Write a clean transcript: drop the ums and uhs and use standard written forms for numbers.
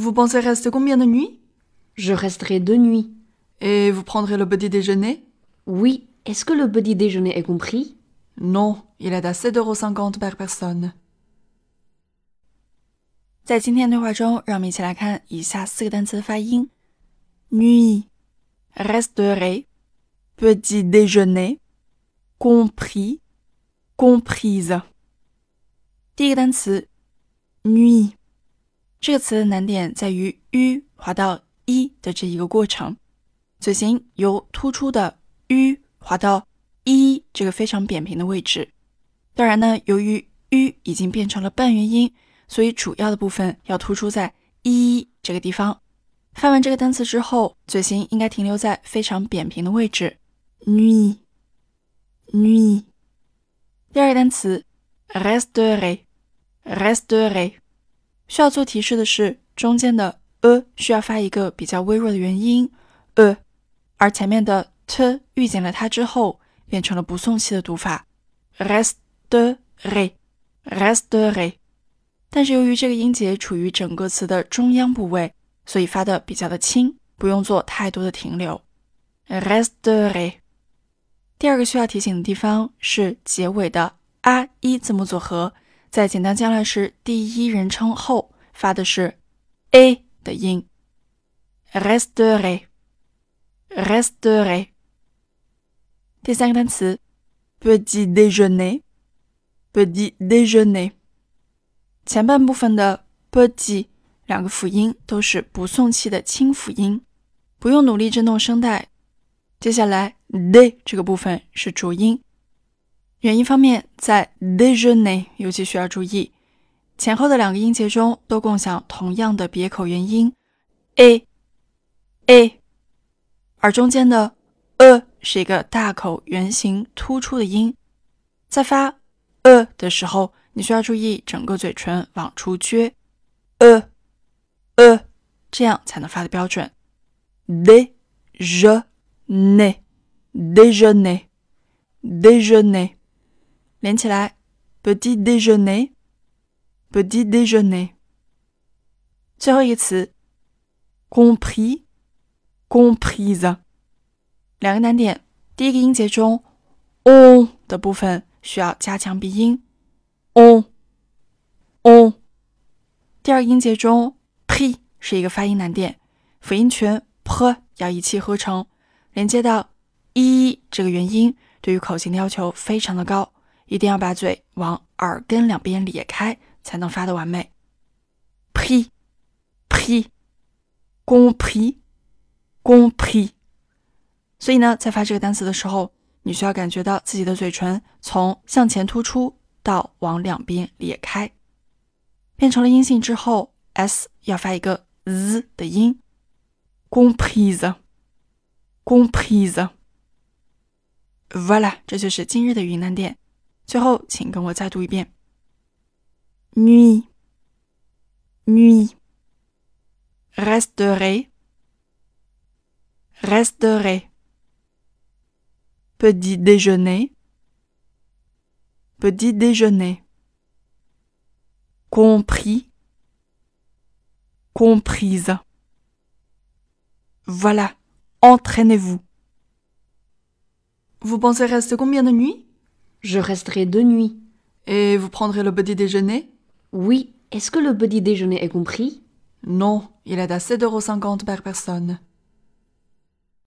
Vous pensez rester combien de nuits? Je resterai 2 nuits. Et vous prendrez le petit déjeuner? Oui, est-ce que le petit déjeuner est compris? Non, il est à 7,50 € par personne. 在今天对话中，让我们一起来看以下4个单词的发音。Nuit, resterai, petit déjeuner, compris, comprise. 第一个单词 nuit， 这个词的难点在于 u 滑到 i 的这一个过程，嘴型由突出的 u 滑到 i 这个非常扁平的位置。当然呢，由于 u 已经变成了半元音，所以主要的部分要突出在 i 这个地方。发完这个单词之后，嘴型应该停留在非常扁平的位置。nuit, nuit。第二个单词 resterai, resterai。需要做提示的是，中间的需要发一个比较微弱的元音而前面的 t 遇见了它之后，变成了不送气的读法 resterai, resterai。但是由于这个音节处于整个词的中央部位，所以发的比较的轻，不用做太多的停留。resterai。第二个需要提醒的地方是结尾的 a 字母组合，在简单将来时第一人称后发的是 a 的音。resterai, resterai。第三个单词 petit déjeuner, petit déjeuner。前半部分的 petit 两个辅音都是不送气的清辅音，不用努力震动声带。接下来 de 这个部分是浊音，元音方面在 déjeuner 尤其需要注意，前后的两个音节中都共享同样的别口元音 a， 而中间的是一个大口圆形突出的音，在发的时候，你需要注意整个嘴唇往出撅这样才能发的标准。déjeuner, déjeuner, déjeuner。 连起来 petit déjeuner, petit déjeuner。 最后一个词 compris, comprise。 两个难点，第一个音节中 on 的部分需要加强鼻音 on。 第二个音节中 p 是一个发音难点，辅音全 p 要一气呵成，连接到 i 这个元音，对于口型的要求非常的高，一定要把嘴往耳根两边咧开才能发得完美。 pris, pris, compris, compris。 所以呢，在发这个单词的时候，你需要感觉到自己的嘴唇从向前突出到往两边咧开，变成了阴性之后 s 要发一个 z 的音 comprise, comprise。 Voilà， 这就是今日的语音难点。最后请跟我再读一遍。 nuit, nuit, resterai, resterai, petit déjeuner, petit déjeuner, compris, comprise. Voilà, entraînez-vous. Vous pensez rester combien de nuits? Je resterai 2 nuits. Et vous prendrez le petit déjeuner? Oui, est-ce que le petit déjeuner est compris? Non, il est à 7,50 € par personne.